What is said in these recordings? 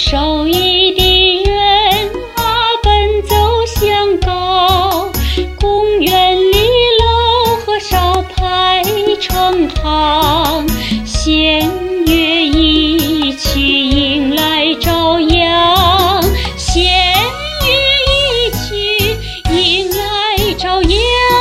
手艺的人啊，奔走相告，公园里楼和烧排成行，弦乐一曲迎来朝阳，弦乐一曲迎来朝阳。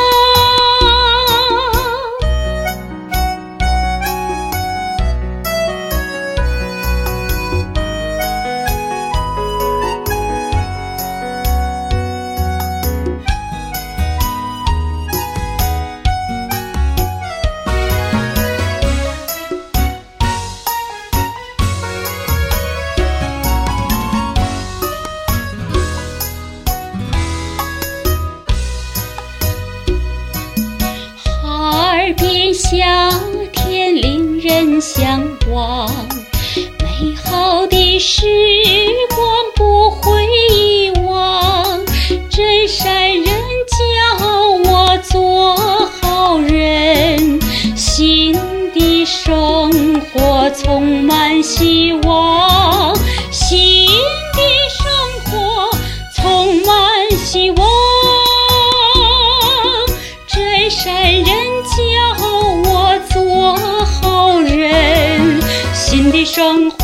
边夏天令人向往，美好的时光不会遗忘。真善人教我做好人，新的生活充满希望，新的生活充满希望。真善人教我做好人，新的生活